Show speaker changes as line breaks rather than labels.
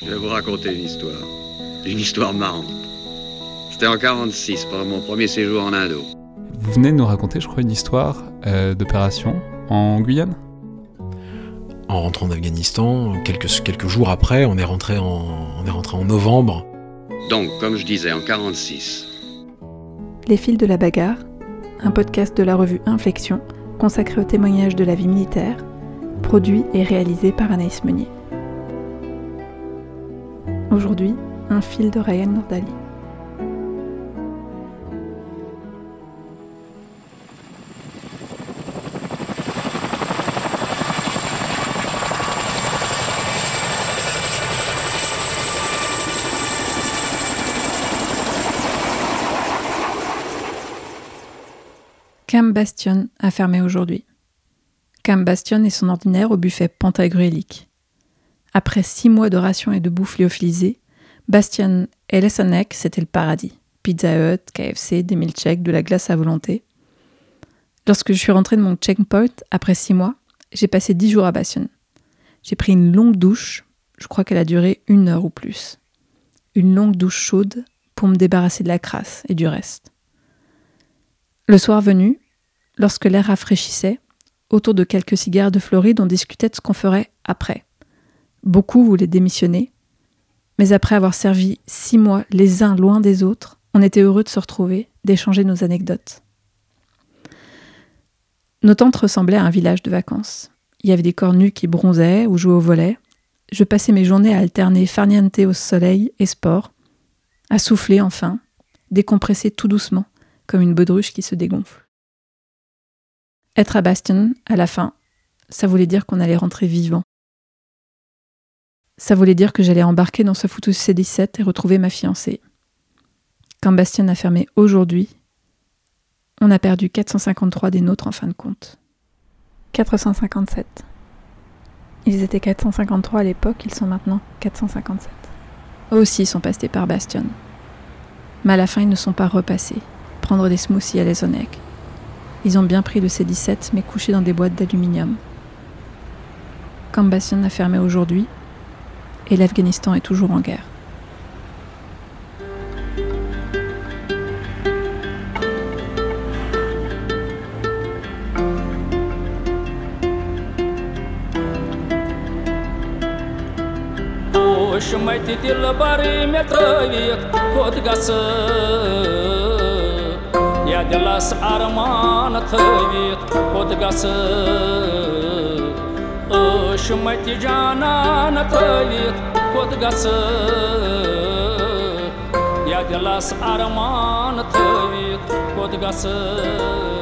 Je vais vous raconter une histoire marrante. C'était en 46, pendant mon premier séjour en Indo.
Vous venez de nous raconter, je crois, une histoire d'opération en Guyane.
En rentrant d'Afghanistan, quelques jours après, on est rentré en novembre.
Donc, comme je disais, en 46.
Les fils de la bagarre, un podcast de la revue Inflexion, consacré au témoignage de la vie militaire, produit et réalisé par Anaïs Meunier. Aujourd'hui, un fil de Ryan Nourdali. Camp Bastion a fermé aujourd'hui. Camp Bastion est son ordinaire au buffet pentagruélique. Après 6 mois de rations et de bouffe lyophilisée, Bastion et Lessonek, c'était le paradis. Pizza Hut, KFC, des milkshakes, de la glace à volonté. Lorsque je suis rentrée de mon checkpoint, après 6 mois, j'ai passé 10 jours à Bastion. J'ai pris une longue douche, je crois qu'elle a duré 1 heure ou plus. Une longue douche chaude pour me débarrasser de la crasse et du reste. Le soir venu, lorsque l'air rafraîchissait, autour de quelques cigares de Floride, on discutait de ce qu'on ferait après. Beaucoup voulaient démissionner, mais après avoir servi 6 mois les uns loin des autres, on était heureux de se retrouver, d'échanger nos anecdotes. Nos tentes ressemblaient à un village de vacances. Il y avait des corps nus qui bronzaient ou jouaient au volley. Je passais mes journées à alterner farniente au soleil et sport, à souffler enfin, décompresser tout doucement, comme une baudruche qui se dégonfle. Être à Bastion, à la fin, ça voulait dire qu'on allait rentrer vivant. Ça voulait dire que j'allais embarquer dans ce foutu C-17 et retrouver ma fiancée. Quand Bastion a fermé aujourd'hui, on a perdu 453 des nôtres en fin de compte. 457. Ils étaient 453 à l'époque, ils sont maintenant 457. Eux aussi sont passés par Bastion. Mais à la fin, ils ne sont pas repassés. Prendre des smoothies à Lessonek. Ils ont bien pris le C-17, mais couché dans des boîtes d'aluminium. Camp Bastion a fermé aujourd'hui, et l'Afghanistan est toujours en guerre.
Ya dilas arman thavit podgas shumati janan thavit podgas ya dilas arman thavit podgas